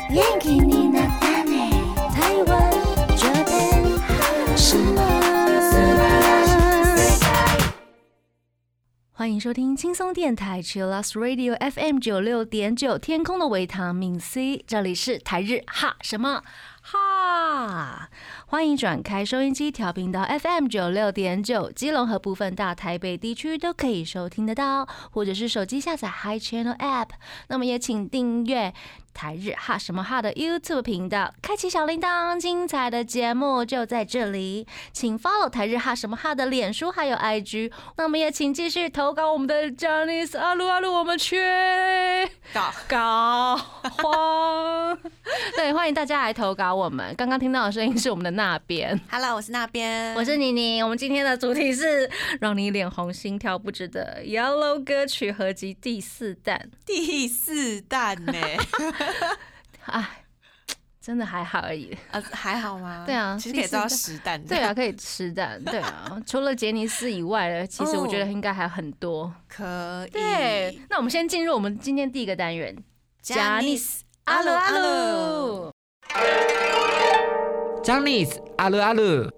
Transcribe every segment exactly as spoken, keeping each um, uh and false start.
元気になったね台湾这边什么欢迎收听轻松电台 Chillus Radio F M 九六点九 天空的维他命 C， 这里是台日哈什么哈，欢迎转开收音机调频到 F M 九六点九， 基隆和部分大台北地区都可以收听得到，或者是手机下载 Hi Channel App， 那么也请订阅台日哈什么哈的 YouTube 频道，开启小铃铛，精彩的节目就在这里。请 follow 台日哈什么哈的脸书还有 I G， 那么也请继续投稿我们的 Janice 阿鲁阿鲁，我们缺搞搞慌。对，欢迎大家来投稿我们。刚刚听到的声音是我们的那边 ，Hello， 我是那边， 我是妮妮。我们今天的主题是让你脸红心跳不止的 Yellow 歌曲合集第四弹。 第四弹呢？ 哎，真的还好而已。 啊，还好吗？ 对啊， 其实可以做到十弹。 对啊，可以十弹。对啊，除了杰尼斯以外的，其实我觉得应该还有很多。哦、 可以。 对，那我们先进入我们今天第一个单元 ，Janice 阿鲁阿鲁。 Janice 阿鲁阿鲁。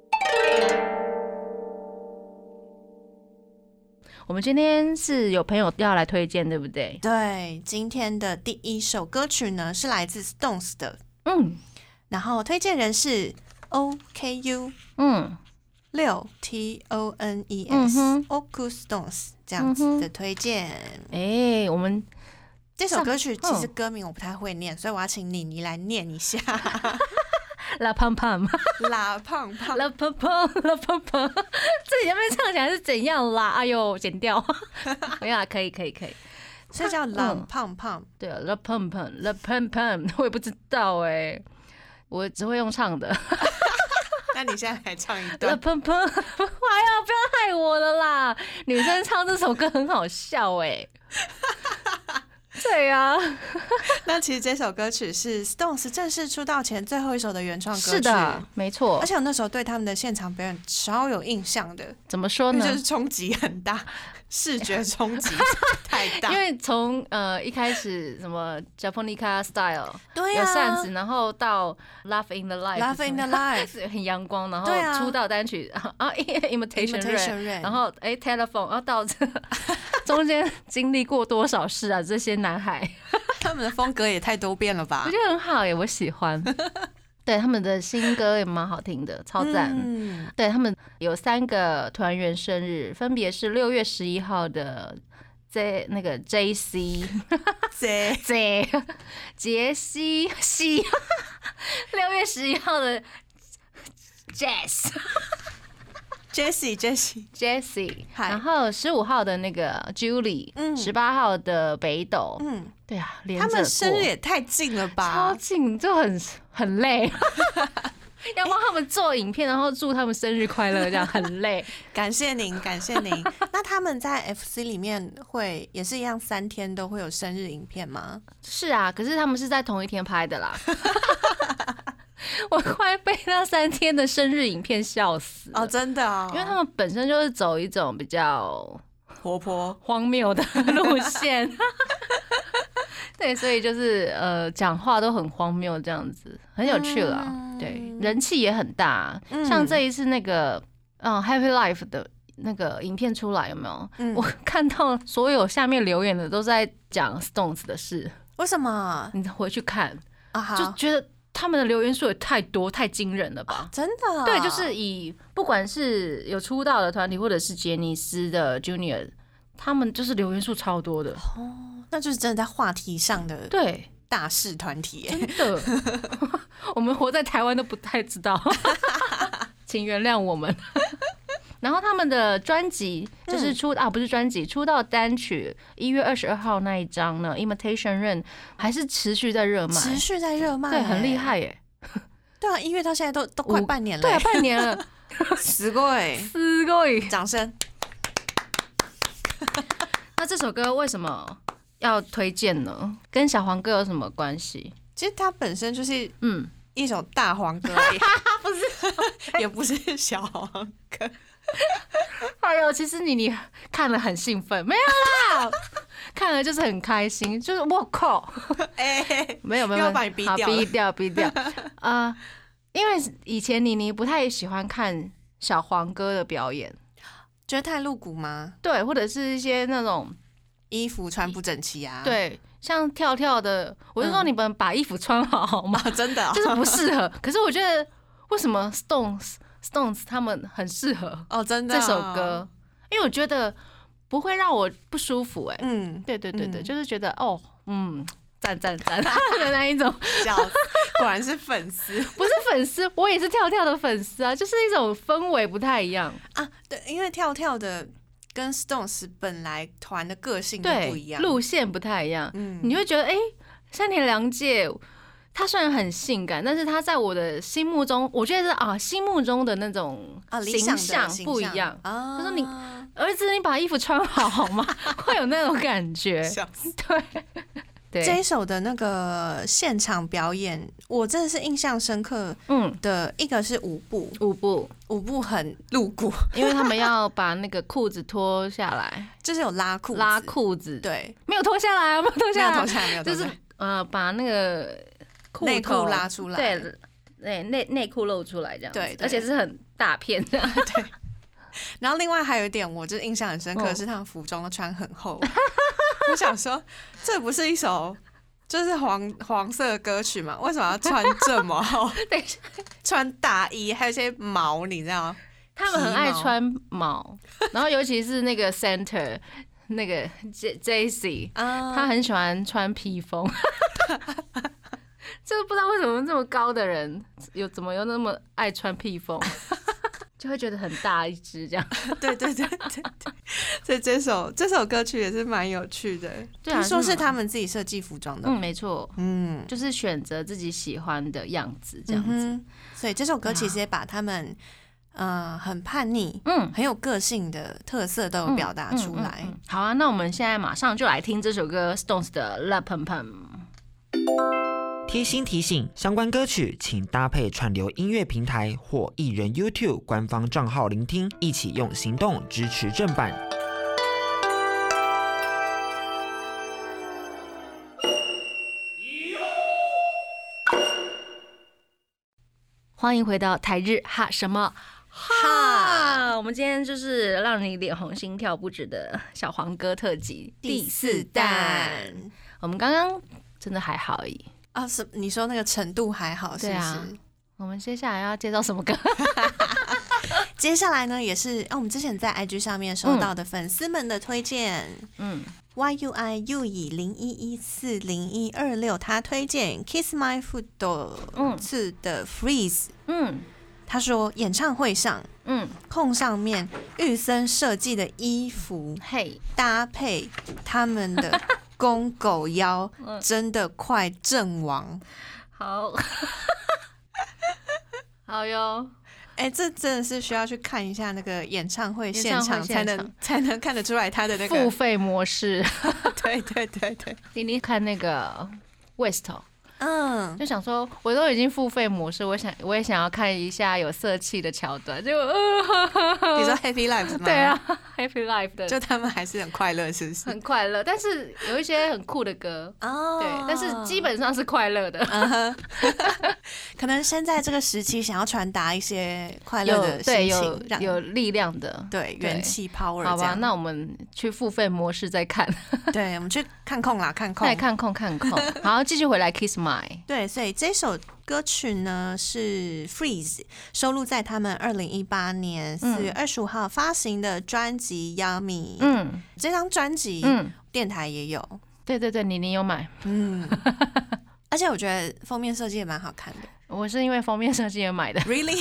我们今天是有朋友要来推荐，对不对？ 对，今天的第一首歌曲呢是来自 Stones 的， 嗯， 然后推荐人是 O K U， 嗯， 六 T O N E S，Oku Stones 这样子的推荐。 哎、欸，我们这首歌曲其实歌名我不太会念，所以我要请妮妮来念一下。 拉胖胖， 拉胖胖， 拉胖胖，拉胖胖，自己那边唱起来是怎样啦？哎呦，剪掉，没有啦，可以，可以，可以， 所以叫拉胖胖。 对啊，拉胖胖，拉胖胖，我也不知道哎、欸，我只会用唱的。 那你现在来唱一段。 拉胖胖，哎呀，不要害我了啦！女生唱这首歌很好笑哎、欸。对啊， 那其实这首歌曲是 Stones 正式出道前最后一首的原创歌曲。 是的，没错。 而且我那时候对他们的现场表演超有印象的。 怎么说呢？ 就是冲击很大，视觉冲击太大。 因为从呃一开始什么 Japonica Style， 对啊， 有扇子，然后到 Love in the Life，Love in the Life 很阳光，然后出道单曲啊 Imitation Rain， 然后哎 Telephone， 然后到这中间经历过多少事啊？这些男孩， 他们的风格也太多变了吧？ 我觉得很好耶，我喜欢。对，他们的新歌也蛮好听的，超赞。嗯、对，他们有三个团员生日，分别是六月十一号的 J 那个 J C J J 杰西西，六月十一号的 Jess。 Jessie Jessie Jessie， 然后十五号的那个 Julie， 十、嗯、八号的北斗，嗯，对啊，连着过， 他们生日也太近了吧， 超近，就很很累，要帮他们做影片，然后祝他们生日快乐，这样很累。 感谢您，感谢您。那他们在 F C 里面会也是一样，三天都会有生日影片吗？ 是啊，可是他们是在同一天拍的啦。我快被那三天的生日影片笑死了哦， 真的哦， 因为他们本身就是走一种比较活泼、 荒谬的路线，对，所以就是呃，讲话都很荒谬，这样子很有趣啦。嗯、对，人气也很大，嗯、像这一次那个嗯 Happy Life 的那个影片出来，有没有？嗯、我看到所有下面留言的都在讲 Stones 的事， 为什么？ 你回去看啊， 就觉得。他们的留言数也太多太惊人了吧、 哦、真的、啊、 对，就是以不管是有出道的团体或者是杰尼斯的 Junior， 他们就是留言数超多的哦，那就是真的在话题上的对大势团体耶， 真的我们活在台湾都不太知道请原谅我们然后他们的专辑就是出、嗯、啊，不是专辑，出道单曲一月二十二号那一张呢 ，Imitation Rain 还是持续在热卖， 持续在热卖， 对，很厉害耶。 对啊，一月到现在都都快半年了， 对啊，半年了， すごい， すごい， 掌声。 那这首歌为什么要推荐呢？跟小黄歌有什么关系？ 其实它本身就是嗯一首大黄歌而已， 不是， 也不是小黄歌。 哎呦，其实你你看了很兴奋，没有啦，看看了就是很开心，就是我靠， 哎、欸， 没有没有， 要把你逼掉， 逼掉逼掉啊、呃！因为以前妮妮不太喜欢看小黄哥的表演， 觉得太露骨吗？ 对，或者是一些那种衣服穿不整齐啊， 对，像跳跳的，我就说你们把衣服穿好好吗？ 嗯哦、真的、哦， 就是不适合。可是我觉得为什么 Stones Stones 他们很适合哦，真的、哦、 这首歌，因为我觉得不会让我不舒服、欸。哎， 嗯， 对对对对， 嗯、 就是觉得哦，嗯，赞赞赞的那一种。 笑，果然是粉丝， 不是粉丝，我也是跳跳的粉丝啊，就是一种氛围不太一样啊。对，因为跳跳的跟 Stones 本来团的个性都不一样， 路线不太一样， 嗯， 你会觉得哎，山田凉介。他虽然很性感，但是他在我的心目中，我觉得是啊，心目中的那种形象不一样。他说：“你儿子，你把衣服穿好好吗？”会有那种感觉。对对， 这一首的那个现场表演，我真的是印象深刻。嗯，的一个是舞步， 舞步， 舞步很露骨， 因为他们要把那个裤子脱下来， 就是有拉裤子， 拉裤子， 对， 没有脱下来啊，没有脱下来， 没有脱下来，没有脱下来， 就是呃，把那个。 内裤拉出来， 对，内内内裤露出来这样， 对， 而且是很大片的， 对。然后另外还有一点，我就是印象很深刻，是他们服装都穿很厚。我想说，这不是一首就是黄黄色的歌曲吗？为什么要穿这么厚？ 等一下， 穿大衣，还有一些毛，你知道吗？ 他们很爱穿毛，然后尤其是那个 center 那个 J J C， 他很喜欢穿披风。就不知道为什么这么高的人有怎么有那么爱穿披风，就会觉得很大一只这样。 对对对对对，所以这首这首歌曲也是蛮有趣的。对啊，听说是他们自己设计服装的。 嗯，没错，嗯，就是选择自己喜欢的样子这样子。嗯、 所以这首歌其实也把他们呃很叛逆、嗯很有个性的特色都有表达出来。嗯嗯嗯嗯、 好啊，那我们现在马上就来听这首歌 Stones 的 La Pum Pum。 贴心提醒：相关歌曲请搭配串流音乐平台或艺人 YouTube 官方账号聆听，一起用行动支持正版。 欢迎回到台日哈什么哈？我们今天就是让你脸红心跳不止的小黄歌特辑第四弹。我们刚刚真的还好而已。 啊，是你说那个程度还好，是不是？啊、 我们接下来要介绍什么歌？ 接下来呢，也是啊，我们之前在 I G 上面收到的粉丝们的推荐。嗯 ，Y U I U 以零一一四零一二六，他推荐 Kiss My Foot 次的 Freeze。嗯，他说演唱会上，嗯，空上面玉森设计的衣服，嘿，搭配他们的。公狗腰真的快阵亡， 好，好哟！ 哎、欸，这真的是需要去看一下那个演唱会现场，才能才能看得出来他的那个付费模式。 对对对对， 你你看那个 West， 嗯，就想说我都已经付费模式，我想我也想要看一下有色气的桥段，结果，呃、 你说 Happy Life 吗？ 对啊 ，Happy Life 的， 就他们还是很快乐，是不是？ 很快乐，但是有一些很酷的歌哦，对，但是基本上是快乐的。Uh-huh. 可能现在这个时期想要传达一些快乐的心情， 有有力量的， 对元气 power。 好吧，那我们去付费模式再看。 对，我们去看空啦，看空， 再看空看空。好，继续回来 Kiss My。 对，所以这首歌曲呢是 Freeze 收录在他们二零一八年四月二十五号发行的专辑 Yummy。嗯，这张专辑嗯电台也有。 对对对，你你有买。嗯。 而且我觉得封面设计也蛮好看的。 我是因为封面设计而买的。 Really？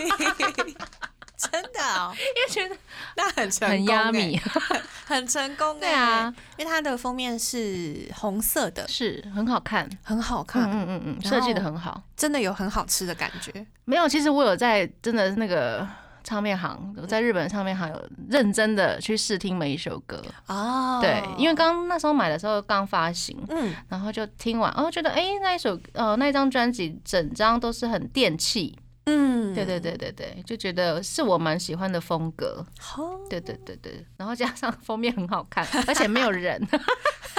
真的哦， 因为觉得那很成功、欸， 很压米， 很成功、欸。 对啊， 因为它的封面是红色的， 是很好看， 很好看。 嗯嗯嗯，设计的很好， 真的有很好吃的感觉。 没有，其实我有在真的那个唱片行，我在日本唱片行有认真的去试听每一首歌哦。对，因为刚那时候买的时候刚发行，嗯，然后就听完，哦，觉得哎、欸、那一首呃那一张专辑整张都是很电气。嗯，对对对对对，就觉得是我蛮喜欢的风格。哦，对对对对，然后加上封面很好看，而且没有人，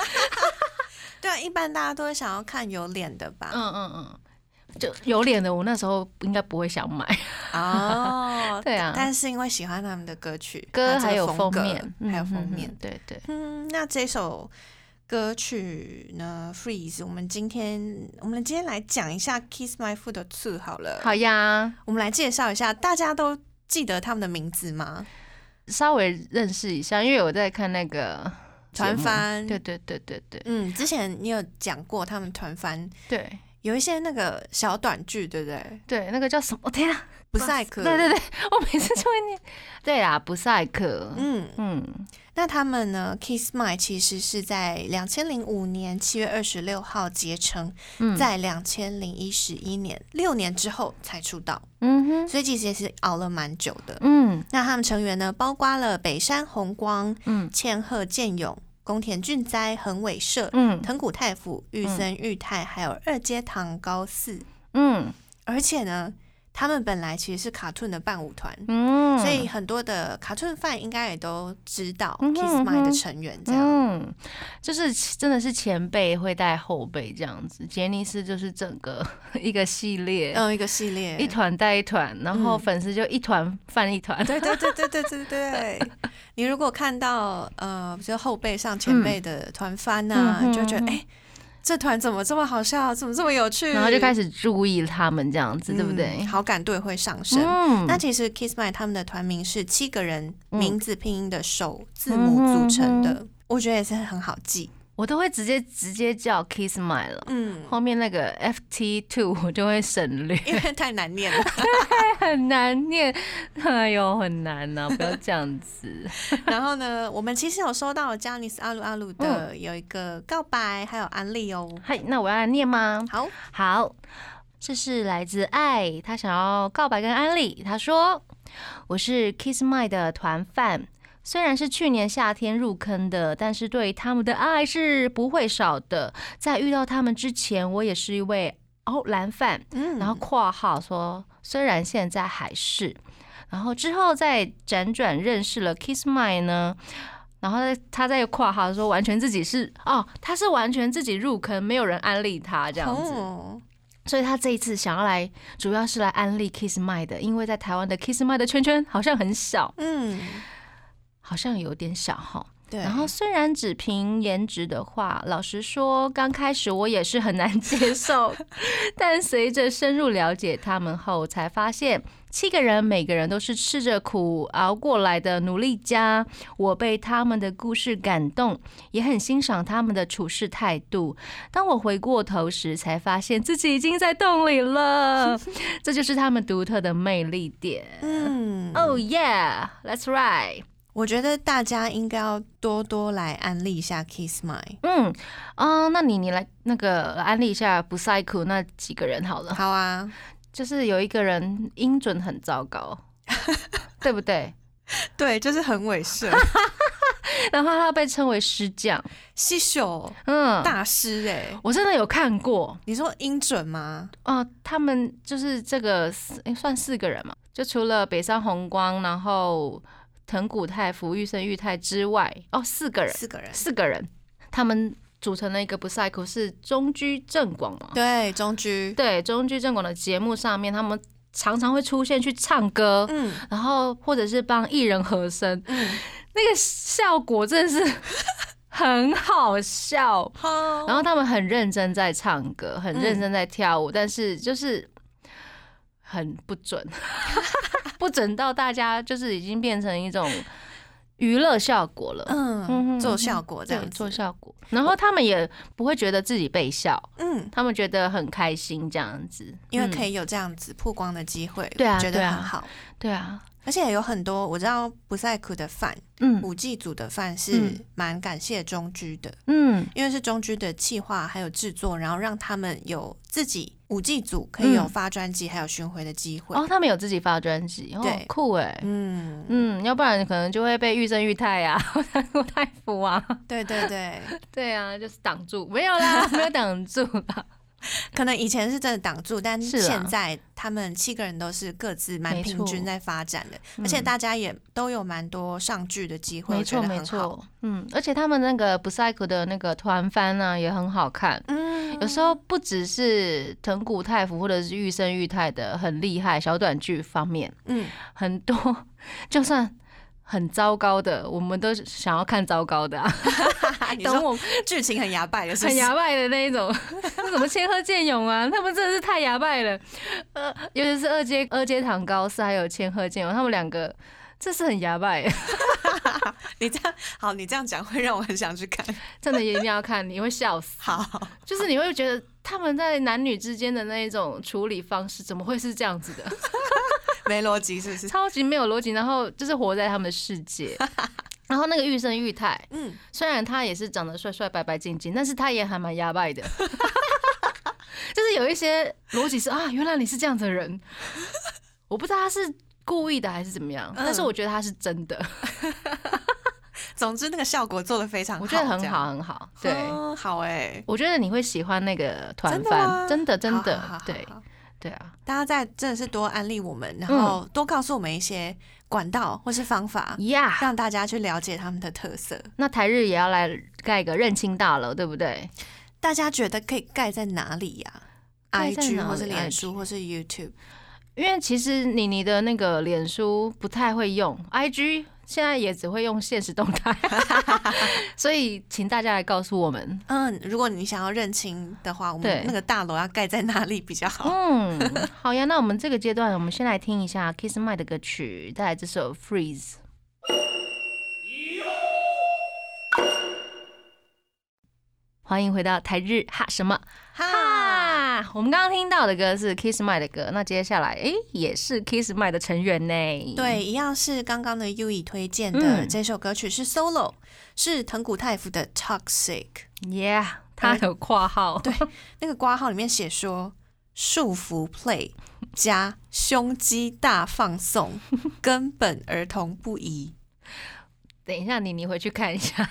对啊，一般大家都会想要看有脸的吧？ 嗯嗯嗯。就有脸的，我那时候应该不会想买哦。 对啊， 但是因为喜欢他们的歌曲、 歌还有封面， 还有封面， 嗯、对对。 嗯，那这首歌曲呢 ，Freeze， 我们今天我们今天来讲一下 Kiss My Foot Two 好了。 好呀， 我们来介绍一下，大家都记得他们的名字吗？ 稍微认识一下，因为我在看那个团番。 对对对对对。 嗯，之前你有讲过他们团番。 对。 有一些那个小短剧，对不对？ 对，那个叫什么？天啊， 不赛克。 对对对，我每次就会念。对啊，不赛克。 嗯嗯。那他们呢 ？Kiss My 其实是在两千零五年七月二十六号结成，嗯、在两千零一十一年六年之后才出道。嗯哼，所以其实也是熬了蛮久的。嗯，那他们成员呢，包括了北山宏光、嗯、千鹤健勇、宫田俊哉、横尾社、嗯、藤谷太辅、玉森裕太，还有二阶堂高嗣。嗯，而且呢，他们本来其实是卡顿的伴舞团，嗯，所以很多的卡顿饭应该也都知道 Kiss My 的成员这样， 嗯，就是真的是前辈会带后辈这样子。杰尼斯就是整个一个系列， 嗯，一个系列， 一团带一团，然后粉丝就一团饭一团， 对对对对对对对。你如果看到呃，比如后辈上前辈的团番啊，嗯、就觉得哎。欸这团怎么这么好笑，怎么这么有趣， 然后就开始注意他们这样子，嗯、对不对？ 好感度会上升。嗯、那其实 Kiss My 他们的团名是七个人名字拼音的首字母组成的，嗯、我觉得也是很好记。 我都会直接直接叫 Kiss My 了，嗯，后面那个 F T two 我就会省略， 因为太难念了， 对，很难念，哎呦，很难啊，不要这样子。 然后呢，我们其实有收到 Janice 阿鲁阿鲁的有一个告白，还有安利哦。 嗨，那我要来念吗？ 好， 好，这是来自爱，他想要告白跟安利，他说：“我是 Kiss My 的团饭。”虽然是去年夏天入坑的，但是对他们的爱是不会少的。在遇到他们之前，我也是一位哦蓝饭，嗯，然后括号说虽然现在还是，然后之后再辗转认识了 Kiss My 呢，然后他在括号说完全自己是哦，他是完全自己入坑，没有人安利他这样子。哦，所以他这一次想要来，主要是来安利 Kiss My 的，因为在台湾的 Kiss My 的圈圈好像很小，嗯。好像有点小哈，对。然后虽然只凭颜值的话，老实说，刚开始我也是很难接受，但随着深入了解他们后，才发现七个人每个人都是吃着苦熬过来的努力家。我被他们的故事感动，也很欣赏他们的处事态度。当我回过头时，才发现自己已经在洞里了。这就是他们独特的魅力点。嗯 ，Oh yeah, that's right。 我觉得大家应该要多多来安利一下 Kiss My。 嗯啊、呃，那你你来那个安利一下不赛酷那几个人好了。 好啊， 就是有一个人音准很糟糕，对不对？ 对，就是很猥亵。 然后他被称为师匠， 西秀，嗯，大师哎、欸， 我真的有看过。 你说音准吗？ 哦、呃，他们就是这个、欸、算四个人嘛，就除了北山宏光，然后藤谷太辅、玉森裕太之外，哦，四个人， 四个人， 四个人，他们组成了一个不赛酷，是中居正广嘛？ 对，中居， 对，中居正广的节目上面，他们常常会出现去唱歌，嗯，然后或者是帮艺人和声，嗯，那个效果真的是很好笑。然后他们很认真在唱歌，很认真在跳舞，嗯、但是就是很不准。不准到大家就是已经变成一种娱乐效果了， 嗯，做效果这样子， 做效果。然后他们也不会觉得自己被笑，嗯，他们觉得很开心这样子， 因为可以有这样子曝光的机会， 对啊， 觉得很好， 对啊。 而且有很多我知道不赛酷的饭，嗯，舞伎组的饭是蛮感谢中居的，嗯，因为是中居的企划还有制作，然后让他们有自己舞伎组可以有发专辑还有巡回的机会。 哦，他们有自己发专辑，哦， 对， 酷哎，嗯嗯，要不然可能就会被玉森裕太啊、藤谷太辅啊， 对对对对啊，就是挡住，没有啦，没有挡住啦。 可能以前是真的挡住，但现在他们七个人都是各自蛮平均在发展的，而且大家也都有蛮多上剧的机会， 没错没错，嗯，而且他们那个 Psycho 的那个团番呢也很好看，嗯，有时候不只是藤谷太辅或者是玉生裕太的很厉害小短剧方面，嗯，很多就算很糟糕的，我们都想要看糟糕的啊。 等我剧情很牙败的是不是， 很牙败的那一种，什么千鹤剑勇啊，他们真的是太牙败了。呃，尤其是二阶二阶堂高寺还有千鹤剑勇，他们两个这是很牙败。 你这样好，你这样讲会让我很想去看， 真的一定要看，你会笑死。 好， 就是你会觉得他们在男女之间的那一种处理方式，怎么会是这样子的？ 没逻辑是不是？ 超级没有逻辑，然后就是活在他们的世界。然后那个玉生裕太，嗯，虽然他也是长得帅帅白白净净，但是他也还蛮牙败的，就是有一些逻辑是啊，原来你是这样子的人，我不知道他是故意的还是怎么样，嗯、但是我觉得他是真的。 总之那个效果做得非常好， 我觉得很好很好，对， 嗯、好哎、欸， 我觉得你会喜欢那个团番，真的真的，好好好对。对啊， 大家在真的是多安利我们，然后多告诉我们一些管道或是方法， 呀、 嗯，让大家去了解他们的特色。 那台日也要来盖个认亲大楼，对不对？ 大家觉得可以盖在哪里呀、啊、？I G 或是脸书或是 YouTube？ 因为其实妮妮的那个脸书不太会用 ，I G 现在也只会用限时动态，所以请大家来告诉我们。 嗯，如果你想要认亲的话，我们那个大楼要盖在哪里比较好？ 嗯，好呀，那我们这个阶段，我们先来听一下 Kiss My 的歌曲，带来这首 Freeze。欢迎回到台日哈什么哈？我们刚刚听到的歌是 Kiss My 的歌，那接下来哎也是 Kiss My 的成员呢。 对，一样是刚刚的 Yui 推荐的这首歌曲是 solo，、嗯、是藤谷太辅的 Toxic。Yeah， 他有括号， 对，那个括号里面写说束缚 play 加胸肌大放送，根本儿童不宜。 等一下，妮妮回去看一下。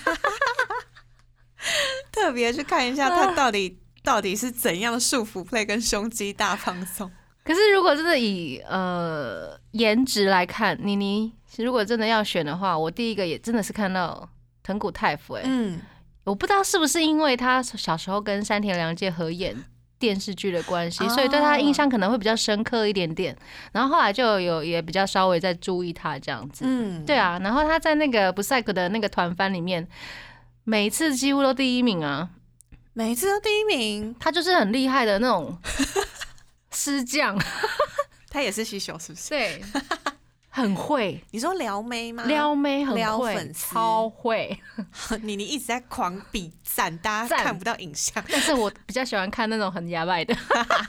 特别去看一下他到底、啊、到底是怎样束缚 play 跟胸肌大放松。 可是如果真的以呃颜值来看，妮妮如果真的要选的话，我第一个也真的是看到藤谷太辅。哎，嗯，我不知道是不是因为他小时候跟山田凉介合演电视剧的关系，所以对他印象可能会比较深刻一点点。然后后来就有也比较稍微在注意他这样子。嗯，对啊。然后他在那个 Psycho 的那个团番里面。每次几乎都第一名啊！ 每次都第一名， 他就是很厉害的那种师将。 他也是西秀，是不是？ 对，很会。 你说撩妹吗？ 撩妹很会， 撩粉丝超会。 你你一直在狂比赞，大家看不到影像。 但是我比较喜欢看那种很牙白的，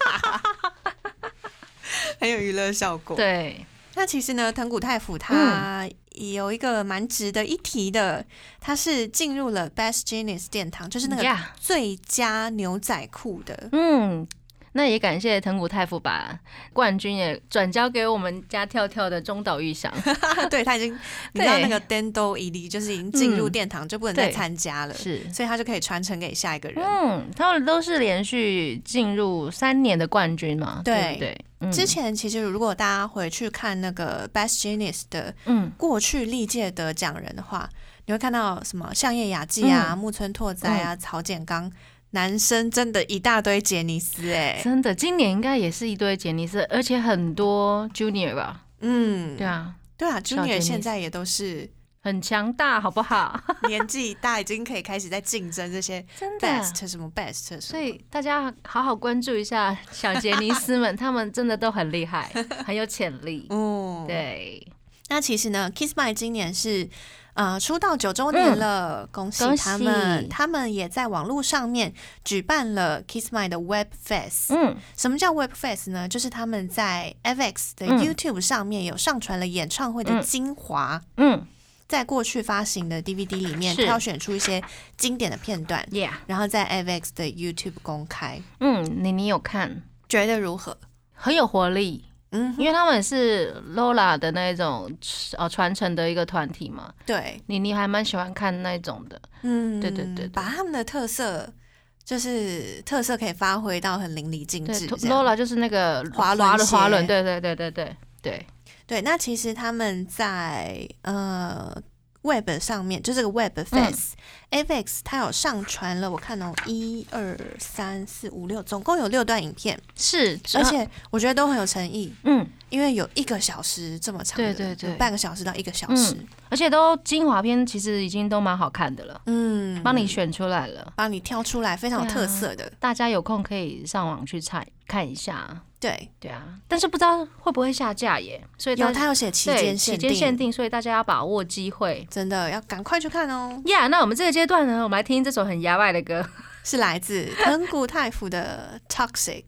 很有娱乐效果。 对。 那其实呢，藤谷太辅他有一个蛮值得一提的，他是进入了 Best Jeans 殿堂，就是那个最佳牛仔裤的。嗯，那也感谢藤谷太辅把冠军也转交给我们家跳跳的中岛裕翔。对，他已经你知道那个 Dendo 一例就是已经进入殿堂、嗯、就不能再参加了，是，所以他就可以传承给下一个人。嗯，他们都是连续进入三年的冠军嘛，对, 对不对？嗯、之前其实如果大家回去看那个 Best Jeans 的过去历届得奖人的话、嗯，你会看到什么相叶雅纪啊、嗯、木村拓哉啊、嗯、曹简刚。男生真的一大堆杰尼斯哎、欸，真的，今年应该也是一堆杰尼斯，而且很多 Junior 吧？嗯，对啊，对啊 ，Junior 现在也都是很强大，好不好？年纪大已经可以开始在竞争这些 Best 什么 Best 什么，所以大家好好关注一下小杰尼斯们，他们真的都很厉害，很有潜力。哦，对。那其实呢 ，Kiss My 今年是。呃，出道九周年了、嗯，恭喜他们！他们也在网络上面举办了 Kiss My 的 Web Fest。嗯，什么叫 Web Fest 呢？就是他们在 F X 的 YouTube 上面有上传了演唱会的精华。嗯，在过去发行的 D V D 里面挑选出一些经典的片段，然后在 F X 的 YouTube 公开。嗯，你你有看？觉得如何？很有活力。嗯，因为他们是 Lola 的那种呃传承的一个团体嘛，对，你你还蛮喜欢看那种的，嗯，对对 对, 對，把他们的特色就是特色可以发挥到很淋漓尽致。 Lola 就是那个滑轮滑轮，对对对对对对对。那其实他们在呃 Web 上面，就这个 Web Face、嗯、A V E X 它有上传了，我看哦，一二三四五六，总共有六段影片， 是， 而且我觉得都很有诚意， 嗯， 因为有一个小时这么长的， 对对对， 半个小时到一个小时。嗯， 而且都精华片，其实已经都蛮好看的了。嗯，帮你选出来了， 帮你挑出来非常有特色的、啊， 大家有空可以上网去看看一下。 对对啊，但是不知道会不会下架耶？所以有他有写期间限定， 期间限定，所以大家要把握机会， 真的要赶快去看哦。 呀、yeah, ，那我们这个阶段呢，我们来听这首很牙外的歌， 是来自藤谷太辅的《Toxic》。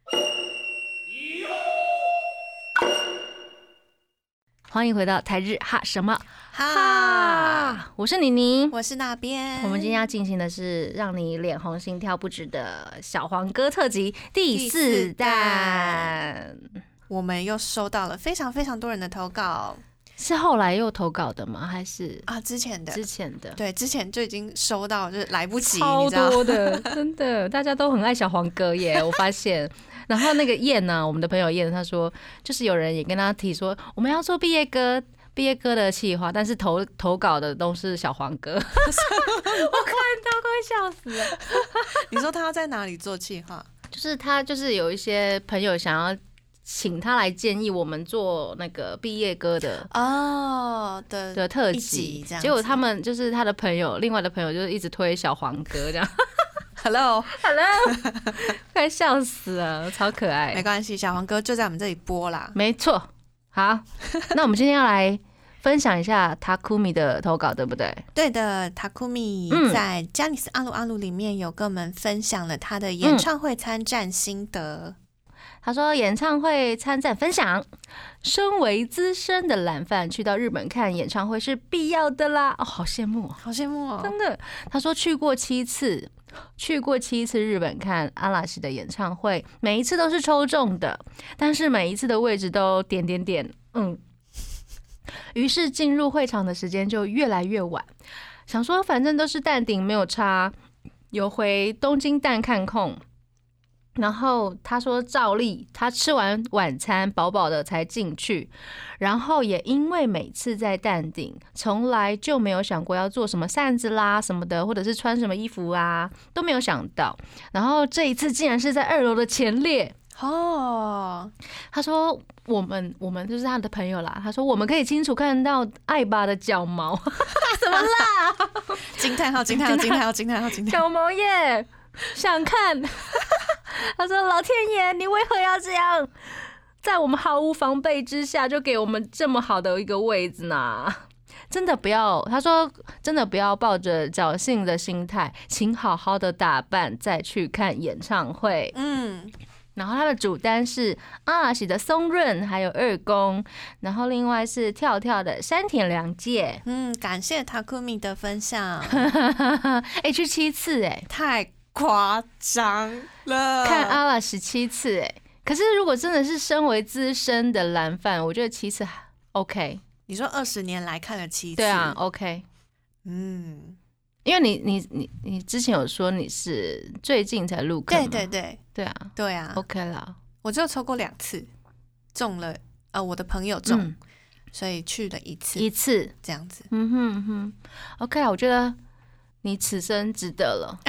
欢迎回到台日哈什么哈， 哈我是妮妮， 我是那边。 我们今天要进行的是让你脸红心跳不止的小黄歌特辑第四弹。 我们又收到了非常非常多人的投稿， 是后来又投稿的吗？还是啊之前的？ 之前的， 对，之前就已经收到，就是来不及， 超多的，真的，大家都很爱小黄歌耶，我发现。然后那个燕呢、啊，我们的朋友燕，他说，就是有人也跟他提说，我们要做毕业歌，毕业歌的企划，但是投投稿的都是小黄歌，我看到快笑死了。 你说他要在哪里做企划？ 就是他就是有一些朋友想要请他来建议我们做那个毕业歌的哦的的特辑，结果他们就是他的朋友，另外的朋友就是一直推小黄歌这样。 Hello Hello 快笑死了，超可爱。 没关系，小黄歌就在我们这里播啦。 没错。好，那我们今天要来分享一下 Takumi 的投稿，对不对？ 对的， Takumi 在 Janis 阿鲁阿鲁里面有跟我们分享了他的演唱会参战心得。 嗯、他说演唱会参战分享，身为资深的懒饭，去到日本看演唱会是必要的啦。哦，好羡慕， 好羡慕哦， 真的。他说去过七次。去过七次日本看阿拉西的演唱会，每一次都是抽中的，但是每一次的位置都点点点，嗯。于是进入会场的时间就越来越晚，想说反正都是淡定没有差，有回东京蛋看空。然后他说照例他吃完晚餐饱饱的才进去，然后也因为每次在淡定从来就没有想过要做什么扇子啦什么的，或者是穿什么衣服啊都没有想到，然后这一次竟然是在二楼的前列哦。他说我们我们就是他的朋友啦，他说我们可以清楚看到艾巴的脚毛什么啦惊叹号惊叹号惊叹号惊叹号惊叹号脚毛耶，想看他说老天爷你为何要这样在我们毫无防备之下就给我们这么好的一个位置呢？真的不要，他说真的不要抱着侥幸的心态，请好好的打扮再去看演唱会。嗯，然后他的主单是阿拉西的松润还有二宫，然后另外是跳跳的山田凉介。 嗯，感谢 Takumi 的分享。 哎，去七次哎， 太夸张了， 看阿拉十七次哎，可是如果真的是身为资深的蓝饭，我觉得七次 OK。 你说二十年来看了七次， 对啊 ，OK。嗯，因为你你你你之前有说你是最近才入坑， 对对对对啊对啊 ，OK 啦。 我就抽过两次，中了呃我的朋友中，嗯、所以去了一次一次这样子。 嗯哼嗯哼 ，OK 啊，我觉得。你此生值得了。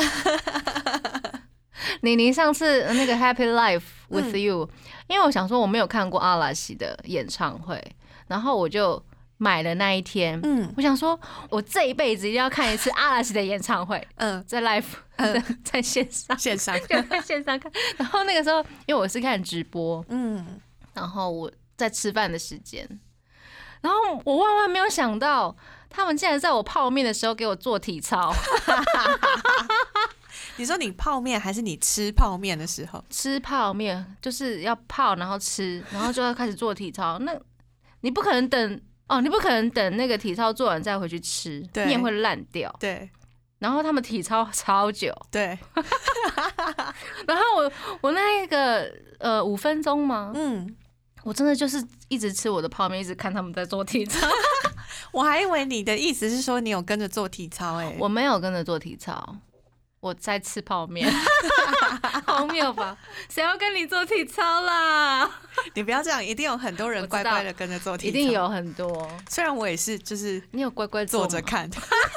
你你上次那个 Happy Life with You，、嗯、因为我想说我没有看过阿拉西的演唱会，然后我就买了那一天。嗯，我想说我这一辈子一定要看一次阿拉西的演唱会。嗯，在 live，、嗯、在线上， 线上就在线上看。然后那个时候，因为我是看直播，嗯，然后我在吃饭的时间，然后我万万没有想到。他们竟然在我泡面的时候给我做体操。 你说你泡面还是你吃泡面的时候？ 吃泡面就是要泡，然后吃，然后就要开始做体操。那你不可能等哦，你不可能等那个体操做完再回去吃，面会烂掉。 对。 然后他们体操超久。 对。 然后我我那个呃五分钟吗？嗯。我真的就是一直吃我的泡面，一直看他们在做体操。 我还以为你的意思是说你有跟着做体操。哎、欸， 我没有跟着做体操。 我在吃泡面，荒谬吧？谁要跟你做体操啦？ 你不要这样，一定有很多人乖乖的跟着做体操， 一定有很多。 虽然我也是，就是你有乖乖坐着看，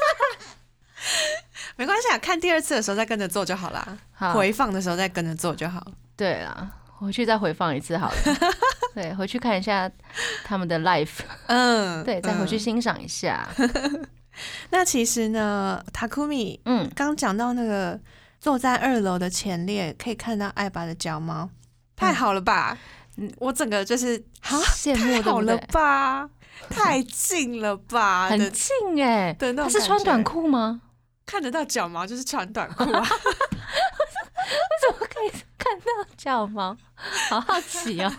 没关系啊，看第二次的时候再跟着做就好啦。好，回放的时候再跟着做就好。 对啦，回去再回放一次好了。对，回去看一下他们的 live， 嗯，对，再回去欣赏一下。嗯那其实呢 ，Takumi， 嗯，刚讲到那个坐在二楼的前列可以看到艾爸的脚毛，太好了吧？嗯，我整个就是啊， 羡慕， 太好了吧？太近了吧？ 很近哎、欸！ 对，他是穿短裤吗？ 看得到脚毛就是穿短裤啊？为什么可以看到脚毛？好好奇哦！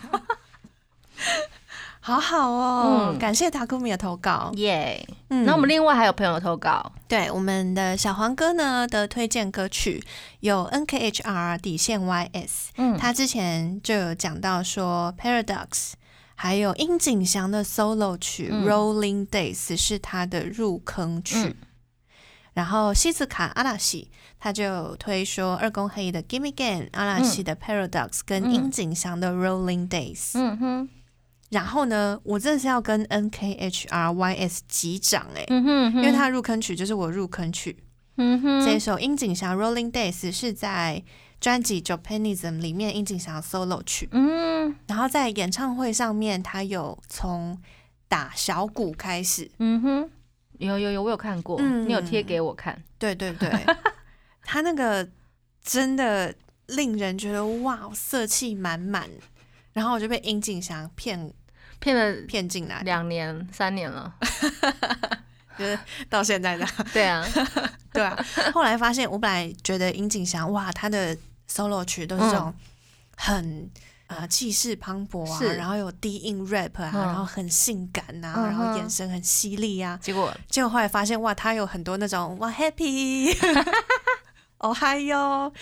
好好哦，嗯、感谢 Takumi 的投稿， 耶、yeah 嗯！那我们另外还有朋友投稿， 对我们的小黄哥呢的推荐歌曲有 N K H R 底线 Y S， 嗯，他之前就有讲到说 Paradox， 还有樱井翔的 solo 曲、嗯、Rolling Days 是他的入坑曲，嗯、然后西子卡阿拉西他就有推说二宫黑的 Gimme Again、阿拉西的 Paradox、嗯、跟樱井翔的 Rolling Days， 嗯哼。然后呢，我真的是要跟 N K H R Y S 击掌哎、欸嗯，因为他入坑曲就是我入坑曲。嗯哼，这一首樱井翔 Rolling Days 是在专辑 Japanism 里面樱井翔 solo 曲。嗯，然后在演唱会上面，他有从打小鼓开始。 嗯哼，有有有，我有看过，嗯、你有贴给我看。 对对对，他那个真的令人觉得哇，色气满满。然后我就被樱井翔骗。 骗了骗进来两年三年了， 就是到现在的对啊对啊。后来发现，我本来觉得樱井翔哇，他的 solo 曲都是这种很、嗯、呃气势磅礴啊，然后有低音 rap 啊，嗯、然后很性感啊、嗯，然后眼神很犀利啊。 结果结果后来发现哇，他有很多那种哇 happy， Ohio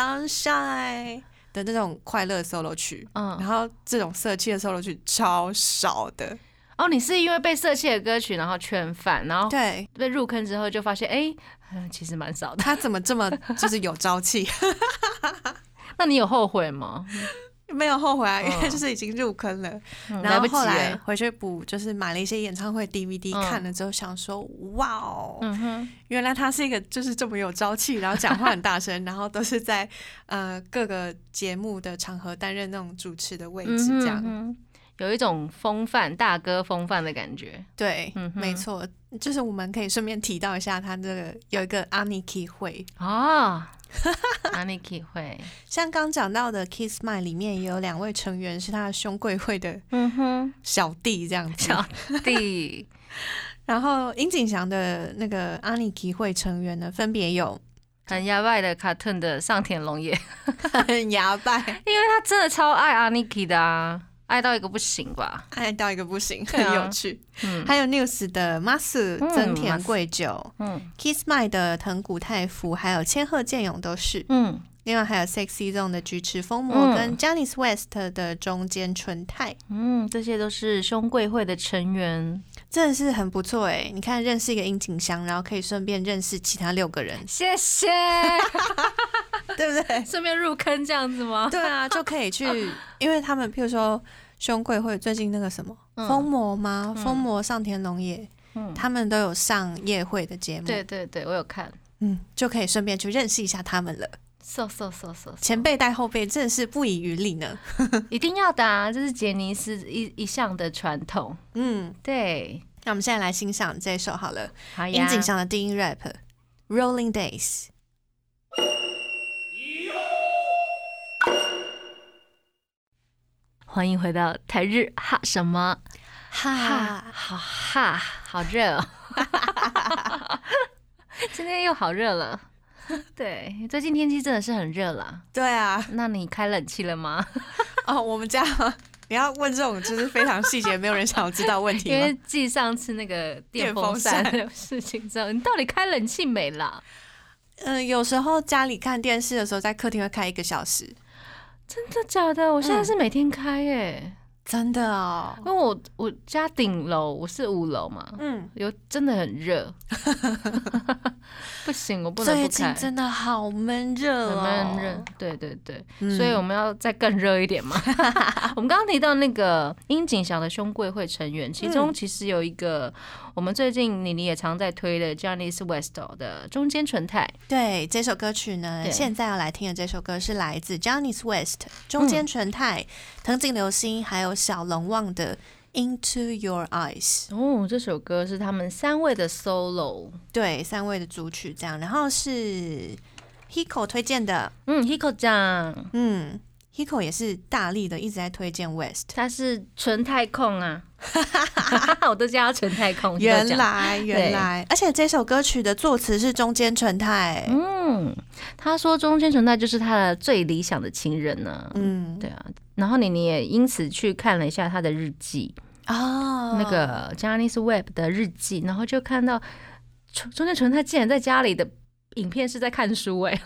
sunshine。的那种快乐 solo 曲，嗯，然后这种色气的 solo 曲超少的。 哦，你是因为被色气的歌曲然后圈饭，然后对被入坑之后就发现，哎、欸，其实蛮少的。 他怎么这么就是有朝气？ 那你有后悔吗？ 没有后悔啊，因为就是已经入坑了。嗯、然后后来回去补，就是买了一些演唱会 D V D，、嗯、看了之后想说，哇哦、嗯，原来他是一个就是这么有朝气，然后讲话很大声，然后都是在呃各个节目的场合担任那种主持的位置，这样、嗯、 有一种风范大哥风范的感觉。 对，嗯、没错，就是我们可以顺便提到一下，他这个有一个 Aniki 会啊。Aniki 会像刚讲到的 Kiss My 里面也有两位成员是他的兄贵会的小弟这样子， 小弟。 然后樱井翔的那个 Aniki 会成员呢，分别有很牙拜的 Cartoon 的上田龙也， 很牙拜， 因为他真的超爱 Aniki 的啊。爱到一个不行吧， 爱到一个不行，很有趣。嗯、还有 News 的 Masu 增田贵久，嗯 ，Kiss My 的藤谷太辅，还有千鹤健勇都是。嗯，另外还有 Sexy Zone 的菊池风磨、嗯、跟 Janice West 的中间纯太。 嗯，这些都是兄贵会的成员， 真的是很不错哎！你看，认识一个樱井翔，然后可以顺便认识其他六个人。 谢谢。 对不对？ 顺便入坑这样子吗？ 对啊，就可以去，因为他们譬如说兄贵会最近那个什么疯魔吗？疯魔上田龙也、嗯，他们都有上夜会的节目。 对对对，我有看， 嗯，就可以顺便去认识一下他们了。 so so so so， 前辈带后辈真的是不遗余力呢。 一定要的啊，这是杰尼斯一一向的传统。嗯，对。 那我们现在来欣赏这一首好了，好呀，樱井翔的低音 rap Rolling Days。 欢迎回到台日哈什么哈，好哈，好热哦！今天又好热了。对，最近天气真的是很热啦。 对啊， 那你开冷气了吗？ 哦，我们家你要问这种就是非常细节，没有人想要知道问题吗？ 因为继上次那个电风扇的事情之后，你到底开冷气没啦？ 嗯、呃，有时候家里看电视的时候，在客厅会开一个小时。 真的假的？我现在是每天开耶、欸嗯。 真的哦， 因为我我家顶楼我是五楼嘛，嗯，有真的很热，不行，我不能不开。 最近真的好闷热哦， 很闷热，对对对，嗯、所以我们要再更热一点嘛。我们刚刚提到那个樱井翔的兄贵会成员，其中其实有一个我们最近妮妮也常在推的 Johnny's West 的中间纯太。 对，这首歌曲呢，现在要来听的这首歌是来自 Johnny's West 中间纯太、藤井流星还有小龙旺的 Into Your Eyes。 哦，这首歌是他们三位的 solo， 对，三位的主曲这样，然后是 Hiko 推荐的。 嗯 Hiko 酱， 嗯 Hiko 也是大力的一直在推荐 West， 他是纯太控啊我都叫他纯太控。 原来原来，而且这首歌曲的作词是中间纯太。 嗯，他说中间纯太就是他的最理想的情人呢、啊。嗯，对啊。然后你你也因此去看了一下他的日记哦，那个 Johnny's Web 的日记，然后就看到中间纯太竟然在家里的影片是在看书哎、欸。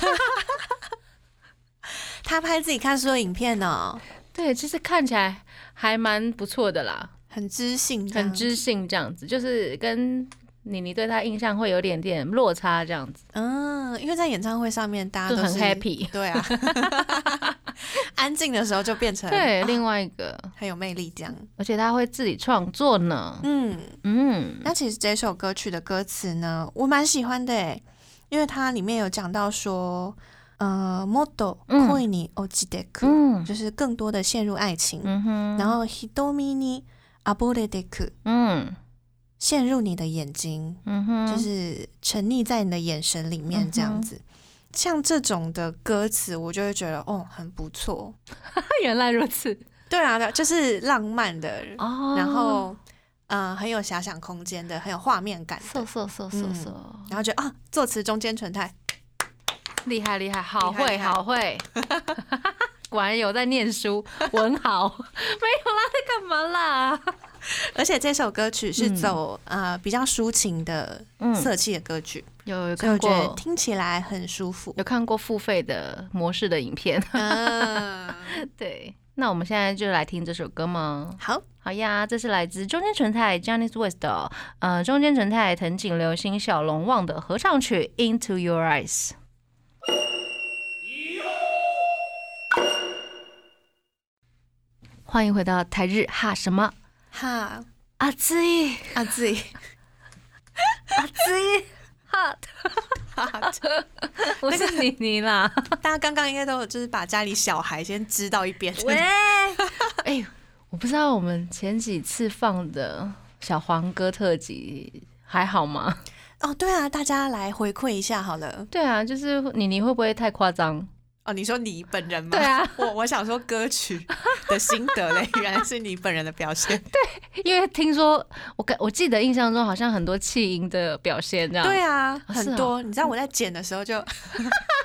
他拍自己看书的影片哦， 对，其实看起来还蛮不错的啦， 很知性， 很知性这样子，就是跟妮妮对他印象会有点点落差这样子。 嗯，因为在演唱会上面大家都是很 happy， 对啊，安静的时候就变成对、啊、另外一个很有魅力这样， 而且他会自己创作呢。嗯嗯，那其实这首歌曲的歌词呢，我蛮喜欢的耶，因为它里面有讲到说。呃，もっと恋に落ちてく、嗯，就是更多的陷入爱情。嗯哼，然后瞳に溺れてく，嗯，陷入你的眼睛，嗯哼，就是沉溺在你的眼神里面这样子。嗯、像这种的歌词，我就会觉得哦，很不错。 原来如此， 对啊，就是浪漫的，哦、然后。嗯，很有遐想空间的，很有画面感的。 嗖嗖嗖嗖嗖， 然后觉得啊，作词中间纯太。 厉害厉害，好会好会，果然有在念书，文豪。没有啦，在干嘛啦？ 而且这首歌曲是走、嗯、呃比较抒情的色气的歌曲， 嗯、有有看过，所以我觉得听起来很舒服。 有看过付费的模式的影片，嗯、对。那我们现在就来听这首歌吗？ 好， 好呀，这是来自中间纯太 Johnny's West 的呃中间纯太藤井流星小龙旺的合唱曲 Into Your Eyes。欢迎回到台日哈什么哈阿兹伊阿兹伊阿兹伊哈哈，我是妮妮啦。 大家刚刚应该都有就是把家里小孩先支到一边。 喂，哎，我不知道我们前几次放的小黄歌特辑还好吗？ 哦，对啊，大家来回馈一下好了。 对啊，就是妮妮会不会太夸张？ 哦，你说你本人吗？ 对啊， 我我想说歌曲的心得嘞，原来是你本人的表现。 对，因为听说我我记得印象中好像很多气音的表现这样。 对啊，很多。哦、你知道我在剪的时候就，天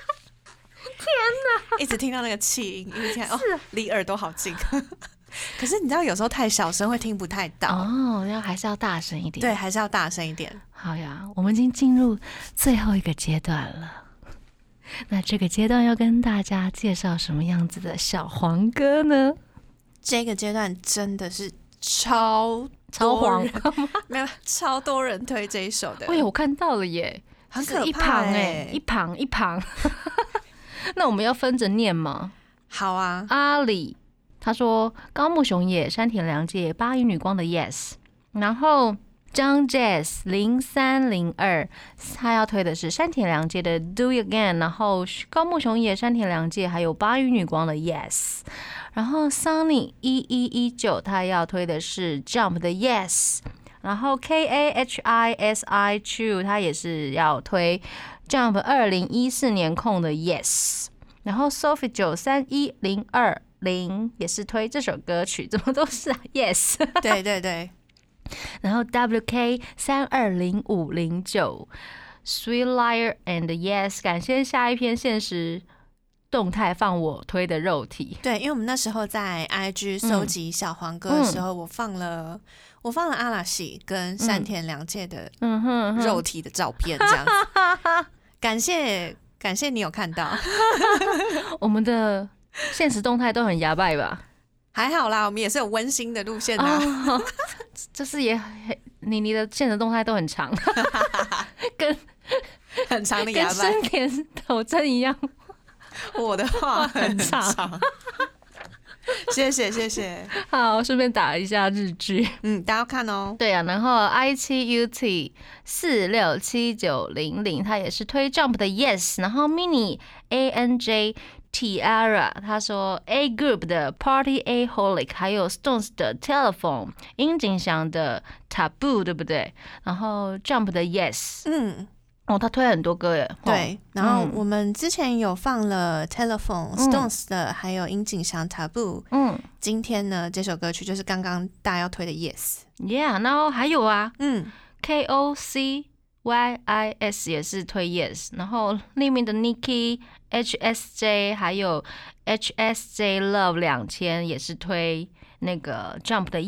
哪， 一直听到那个气音，一直听哦，离耳朵好近。可是你知道有时候太小声会听不太到哦，要还是要大声一点。 对，还是要大声一点。 好呀，我们已经进入最后一个阶段了。那这个阶段要跟大家介绍什么样子的小黄歌呢？ 这个阶段真的是超超黄， 没有超多人推这一首的。 喂，我看到了耶， 很可怕、欸、 一旁哎、欸，一旁一旁。那我们要分着念吗？ 好啊。 阿里他说高木雄也、山田凉介、八音女光的 Yes， 然后。张 Jazz 零三零二，他要推的是山田凉介的 Do It Again， 然后高木雄也、山田凉介还有八音女光的 Yes， 然后 Sunny 一一一九他要推的是 Jump 的 Yes， 然后 K A H I S I Chu 他也是要推 Jump 二零一四年空的 Yes， 然后 Sophie 九三一零二零也是推这首歌曲，怎么都是、啊、Yes， 对对对。 然后 W K 三二零五零九 Sweet Liar and Yes， 感谢下一篇限时动态放我推的肉体。 对，因为我们那时候在 I G 搜集小黄歌的时候，嗯、我放了我放了阿拉西跟山田凉介的肉体的照片，这样子。嗯、感谢感谢你有看到， 我们的限时动态都很牙拜吧？ 还好啦，我们也是有温馨的路线啊。 哦，就是也你你的现实动态都很长，跟很长的跟牙板， 生田斗真一样。 我的话很很长长。谢谢谢谢， 好，顺便打一下日剧。 嗯，大家要看哦。 对啊，然后 I 七 U T 四六七九零零，它也是推 Jump 的 Yes， 然后 Mini A N J Tiara 他说 A Group 的 Party A Holic， 还有 Stones 的 Telephone， 樱井翔的 Taboo， 对不对？然后 Jump 的 Yes， 嗯。 哦，他推了很多歌耶。 对，然后我们之前有放了 Telephone、Stones 的，还有樱井翔 Taboo。嗯，今天呢，这首歌曲就是刚刚大家要推的 Yes。Yeah， 然后还有啊， 嗯 ，K O C Y I S 也是推 Yes， 然后里面的 Niki、H S J 还有 H S J Love 两千也是推那个 Jump 的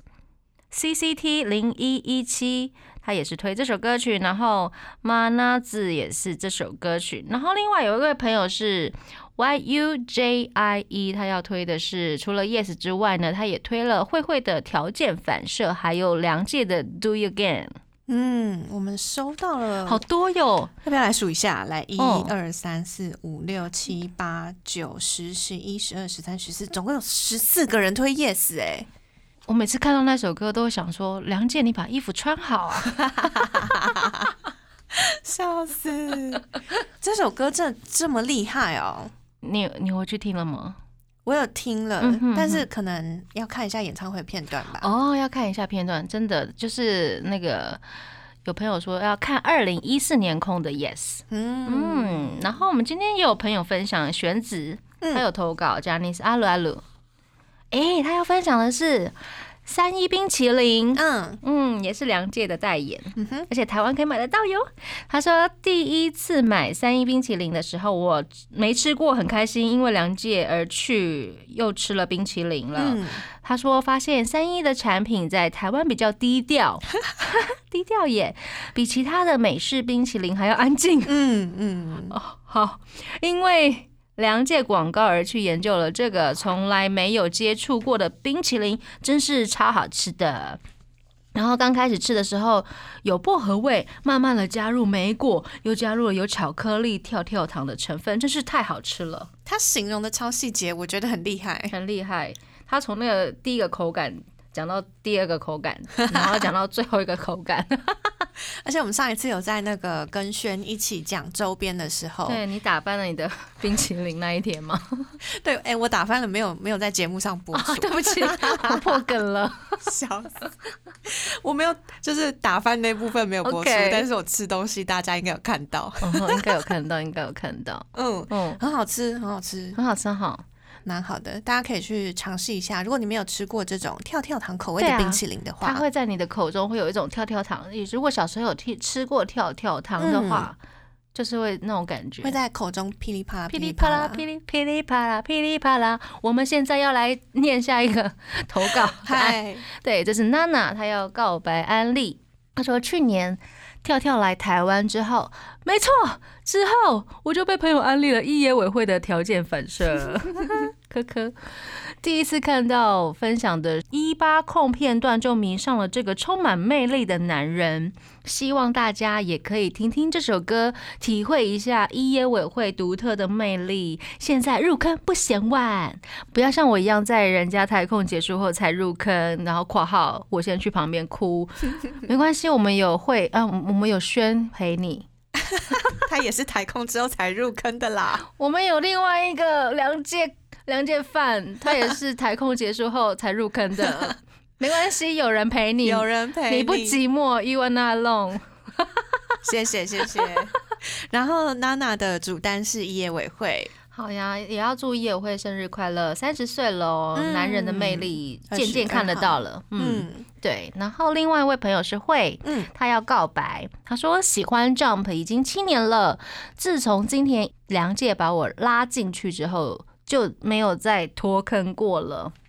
Yes。C C T 零一一七。他也是推这首歌曲，然后马纳子也是这首歌曲，然后另外有一位朋友是 Y U J I E， 他要推的是除了 Yes 之外呢，他也推了慧慧的条件反射，还有梁界的 Do You Again。 嗯，我们收到了好多哟， 要不要来数一下？来，一二三四五六七八九十十一十二十三十四，总共有十四个人推 Yes 哎、欸。 我每次看到那首歌都会想说，梁界你把衣服穿好啊。 笑死，这首歌真的这么厉害哦。 你你回去听了吗？ 我有听了、嗯、哼哼但是可能要看一下演唱会片段吧。 哦，要看一下片段，真的就是那个有朋友说要看二零一四年空的 Yes。 嗯, 嗯然后我们今天也有朋友分享玄子，他有投稿 Janice 阿鲁阿鲁，哎，他要分享的是三一冰淇淋，嗯嗯，也是梁界的代言，嗯哼，而且台湾可以买得到哟。他说第一次买三一冰淇淋的时候，我没吃过，很开心，因为梁界而去又吃了冰淇淋了。嗯、他说发现三一的产品在台湾比较低调，低调耶，比其他的美式冰淇淋还要安静。嗯嗯，哦好，因为梁界广告而去研究了这个从来没有接触过的冰淇淋，真是超好吃的。然后刚开始吃的时候有薄荷味，慢慢的加入莓果，又加入了有巧克力跳跳糖的成分，真是太好吃了。 他形容的超细节，我觉得很厉害， 很厉害。他从那个第一个口感讲到第二个口感，然后讲到最后一个口感。 而且我们上一次有在那个跟轩一起讲周边的时候， 对，你打翻了你的冰淇淋那一天吗？ 对，哎、欸，我打翻了，没有没有在节目上播出、哦， 对不起，我破梗了， 笑死！我没有，就是打翻那部分没有播出， okay. 但是我吃东西，大家应该有看到， 哦、应该有看到，应该有看到， 嗯嗯，很好吃，很好吃， 很好吃，好。 蛮好的，大家可以去尝试一下。如果你没有吃过这种跳跳糖口味的冰淇淋的话， 啊、它会在你的口中会有一种跳跳糖。如果小时候有吃过跳跳糖的话、嗯，就是会那种感觉， 会在口中噼里啪啦、 噼里啪啦、噼里噼里啪啦、噼里啪啦。我们现在要来念下一个投稿， 嗨， 对，这是娜娜，她要告白安利。她说去年跳跳来台湾之后，没错，之后我就被朋友安利了一野委会的条件反射。科科，第一次看到分享的一八控片段就迷上了这个充满魅力的男人，希望大家也可以听听这首歌，体会一下一野委会独特的魅力。现在入坑不嫌晚，不要像我一样在人家台控结束后才入坑，然后括号我先去旁边哭，没关系，我们有会啊，我们有轩陪你。 他也是台控之后才入坑的啦。 我们有另外一个梁界梁界范，他也是台控结束后才入坑的。没关系，有人陪你， 有人陪你， 你不寂寞 ，You are not alone。 谢谢谢谢。然后娜娜的主单是一野委会。 好呀，也要祝一野委会生日快乐，三十岁喽、嗯，男人的魅力渐渐看得到了。嗯，嗯对。然后另外一位朋友是慧，嗯，他要告白，他说喜欢 Jump 已经七年了，自从今天梁界把我拉进去之后，就没有再脱坑过了。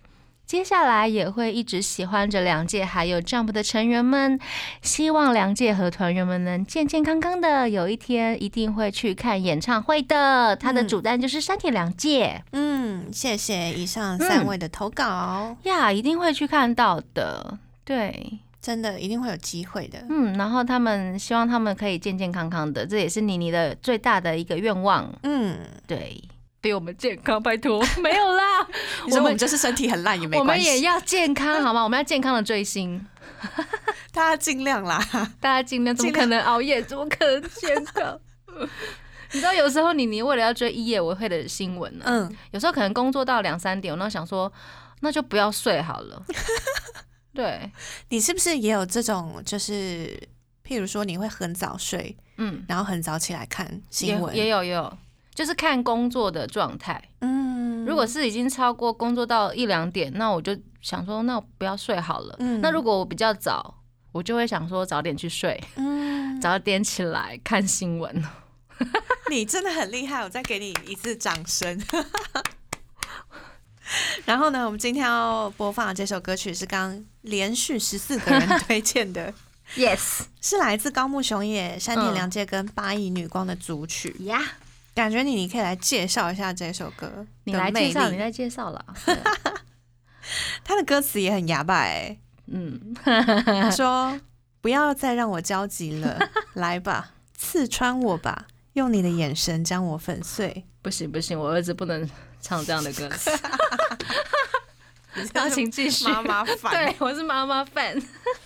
接下来也会一直喜欢着两届还有 Jump 的成员们，希望两届和团员们能健健康康的，有一天一定会去看演唱会的。他的主单就是山田凉介。 嗯，谢谢以上三位的投稿呀、嗯，一定会去看到的。对， 真的一定会有机会的。 嗯，然后他们希望他们可以健健康康的，这也是妮妮的最大的一个愿望。嗯，对。比我们健康，拜托，没有啦。 你说我们就是身体很烂也没关系， 我们也要健康，好吗？我们要健康的追星， 大家尽量啦， 大家尽量，怎么可能熬夜？怎么可能健康？你知道，有时候你你为了要追一夜我会的新闻呢、啊，嗯，有时候可能工作到两三点，我那想说，那就不要睡好了。对， 你是不是也有这种，就是譬如说你会很早睡，嗯，然后很早起来看新闻， 也有也有。就是看工作的状态，嗯，如果是已经超过工作到一两点，那我就想说，那我不要睡好了。嗯，那如果我比较早，我就会想说早点去睡，嗯，早点起来看新闻。 你真的很厉害，我再给你一次掌声。然后呢，我们今天要播放的这首歌曲是刚连续十四个人推荐的。 Yes， 是来自高木雄也、山田凉介跟八亿女光的组曲呀。Yeah，感觉你你可以来介绍一下这首歌， 你来介绍，你来介绍了。 他的歌词也很哑巴哎，嗯，说不要再让我焦急了，来吧，刺穿我吧，用你的眼神将我粉碎。 不行不行，我儿子不能唱这样的歌词。然后请继续， 妈妈fan， 对，我是妈妈 fan。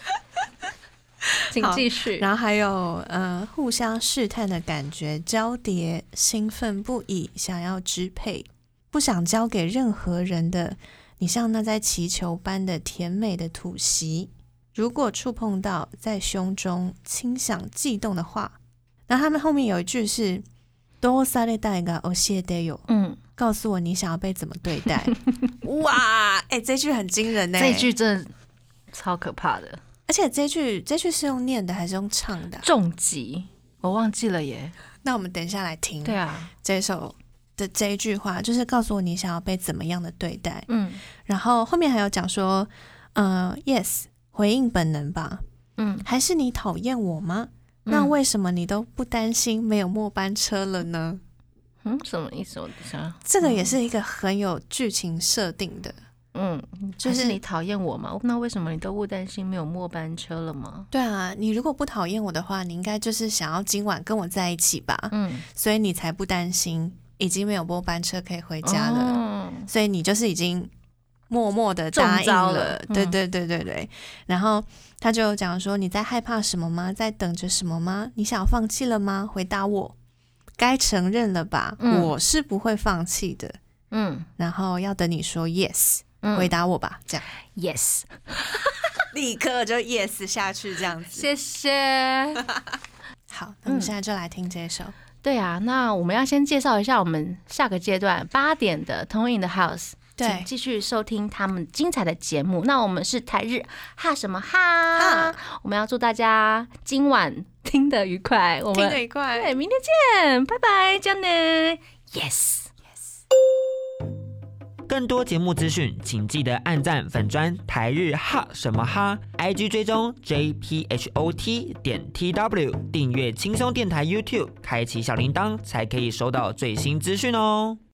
请继续。 然后还有呃，互相试探的感觉交叠，兴奋不已，想要支配，不想交给任何人的你，像那在祈求般的甜美的吐息，如果触碰到在胸中轻响悸动的话。然后他们后面有一句是どうされたいが教えてよ，嗯，告诉我你想要被怎么对待。哇，哎、欸，这句很惊人呢、 欸，这句真的超可怕的。 而且这句这句是用念的还是用唱的、啊？ 重击，我忘记了耶。 那我们等一下来听。 对啊， 这首的这一句话就是告诉我你想要被怎么样的对待。嗯，然后后面还有讲说，呃 ，yes， 回应本能吧。嗯，还是你讨厌我吗？嗯、那为什么你都不担心没有末班车了呢？ 嗯，什么意思？我想这个也是一个很有剧情设定的。 嗯，就是你讨厌我吗？那为什么你都不担心没有末班车了吗？ 对啊，你如果不讨厌我的话，你应该就是想要今晚跟我在一起吧。嗯，所以你才不担心已经没有末班车可以回家了。哦、所以你就是已经默默的答应了。了对对对对对。然后他就讲说：“你在害怕什么吗？在等着什么吗？你想要放弃了吗？回答我，该承认了吧？嗯、我是不会放弃的。嗯，然后要等你说 yes。”回答我吧，这样 yes， 立刻就 yes 下去，这样子。 谢谢。 好，那我们现在就来听这首。嗯、 对啊，那我们要先介绍一下我们下个阶段八点的 Tone in the House， 请继续收听他们精彩的节目。那我们是台日哈什么哈，哈我们要祝大家今晚听得愉快，我们听得愉快， 对，明天见，拜拜，这样呢 ，yes。 更多节目资讯，请记得按赞粉专台日哈什么哈 ，I G 追踪 J P H O T 点 T W， 订阅轻松电台 YouTube， 开启小铃铛，才可以收到最新资讯哦。